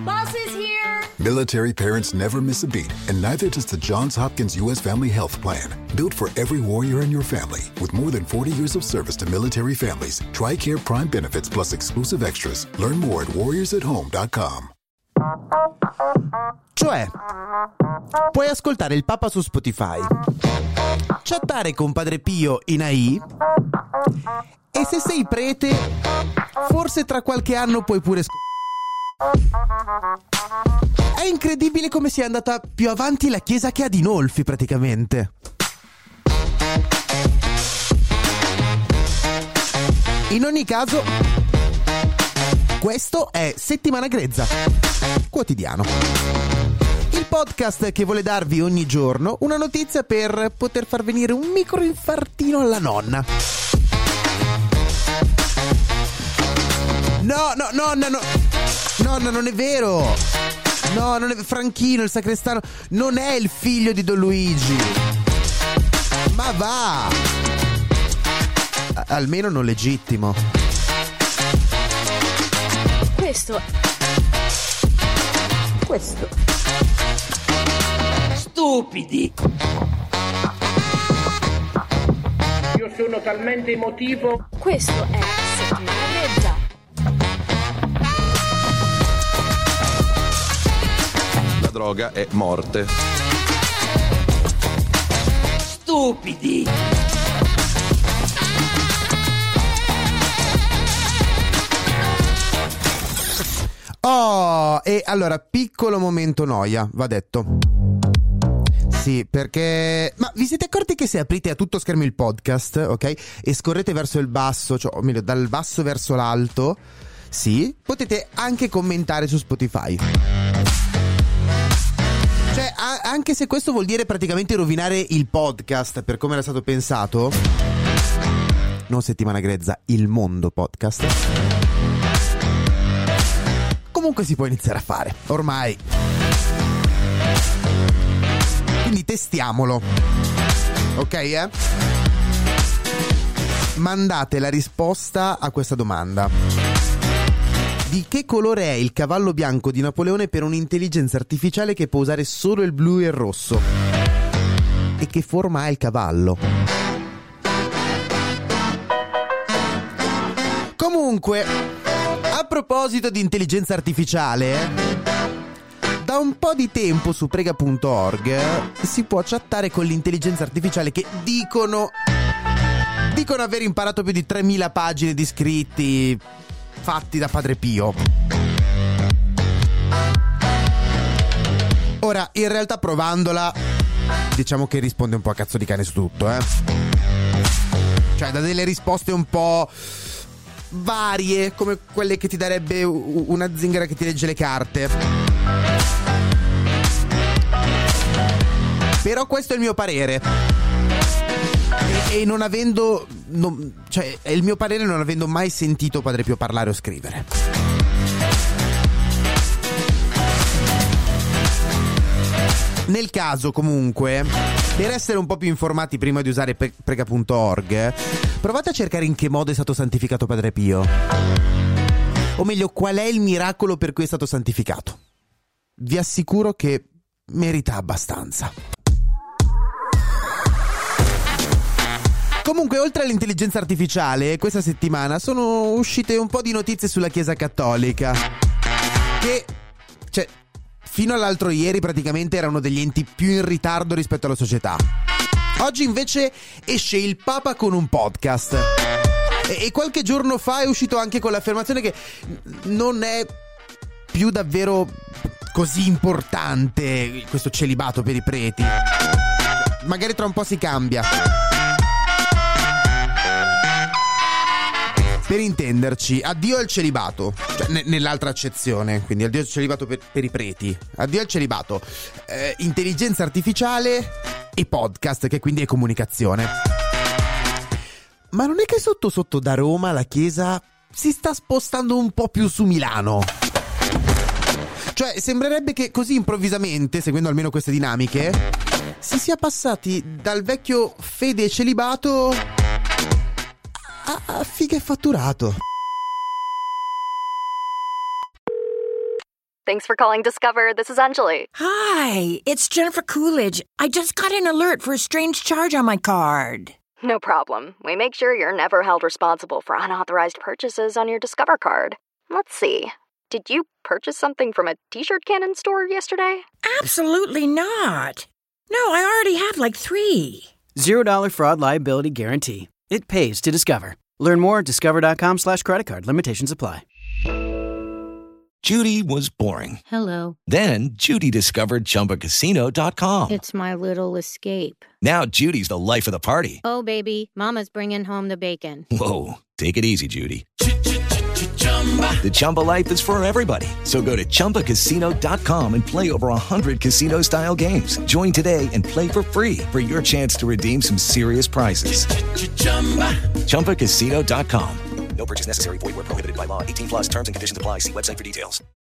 Bus is here! Military parents never miss a beat, and neither does the Johns Hopkins U.S. Family Health Plan. Built for every warrior in your family, with more than 40 years of service to military families. TRICARE Prime benefits plus exclusive extras. Learn more at warriorsathome.com. Cioè, puoi ascoltare il Papa su Spotify, chattare con Padre Pio in AI, e se sei prete, forse tra qualche anno puoi pure È incredibile come sia andata più avanti la chiesa che Adinolfi, praticamente. In ogni caso, questo è Settimana Grezza, quotidiano. Il podcast che vuole darvi ogni giorno una notizia per poter far venire un micro infartino alla nonna. No, non è vero. No, non è Franchino, il sacrestano, non è il figlio di Don Luigi. Ma va! Almeno non legittimo. Questo. Stupidi! Io sono talmente emotivo. Questo è Settimana Grezza. La droga è morte. Stupidi! Oh, e allora, piccolo momento noia, va detto. Sì, perché... Ma vi siete accorti che se aprite a tutto schermo il podcast, ok? E scorrete verso il basso, cioè, o meglio, dal basso verso l'alto, sì, potete anche commentare su Spotify. Cioè, anche se questo vuol dire praticamente rovinare il podcast per come era stato pensato, non Settimana Grezza, il mondo podcast, comunque si può iniziare a fare, ormai. Quindi testiamolo. Ok, Mandate la risposta a questa domanda. Di che colore è il cavallo bianco di Napoleone per un'intelligenza artificiale che può usare solo il blu e il rosso? E che forma ha il cavallo? Comunque, a proposito di intelligenza artificiale, da un po' di tempo su prega.org si può chattare con l'intelligenza artificiale che dicono aver imparato più di 3000 pagine di scritti fatti da Padre Pio. Ora, in realtà provandola, diciamo che risponde un po' a cazzo di cane su tutto, Cioè, dà delle risposte un po' varie, come quelle che ti darebbe una zingara che ti legge le carte. Però questo è il mio parere. E non avendo... cioè, è il mio parere non avendo mai sentito Padre Pio parlare o scrivere. Nel caso, comunque, per essere un po' più informati prima di usare prega.org, provate a cercare in che modo è stato santificato Padre Pio. O meglio, qual è il miracolo per cui è stato santificato. Vi assicuro che merita abbastanza. Comunque, oltre all'intelligenza artificiale, questa settimana sono uscite un po' di notizie sulla Chiesa Cattolica, che, cioè, fino all'altro ieri praticamente era uno degli enti più in ritardo rispetto alla società. Oggi invece esce il Papa con un podcast. E qualche giorno fa è uscito anche con l'affermazione che non è più davvero così importante questo celibato per i preti. Magari tra un po' si cambia. Per intenderci, addio al celibato, cioè, nell'altra accezione, quindi addio al celibato per i preti, addio al celibato, intelligenza artificiale e podcast, che quindi è comunicazione. Ma non è che sotto sotto da Roma la Chiesa si sta spostando un po' più su Milano? Cioè, sembrerebbe che così improvvisamente, seguendo almeno queste dinamiche, si sia passati dal vecchio fede e celibato a figa e fatturato. Thanks for calling Discover. This is Anjali. Hi, it's Jennifer Coolidge. I just got an alert for a strange charge on my card. No problem. We make sure you're never held responsible for unauthorized purchases on your Discover card. Let's see. Did you purchase something from a t-shirt cannon store yesterday? Absolutely not. No, I already have like 3. $0 fraud liability guarantee. It pays to Discover. Learn more at discover.com/creditcard. Limitations apply. Judy was boring. Hello. Then Judy discovered ChumbaCasino.com. It's my little escape. Now Judy's the life of the party. Oh, baby, mama's bringing home the bacon. Whoa, take it easy, Judy. The Chumba life is for everybody. So go to ChumbaCasino.com and play over 100 casino-style games. Join today and play for free for your chance to redeem some serious prizes. ChumbaCasino.com. No purchase necessary. Void where prohibited by law. 18+ terms and conditions apply. See website for details.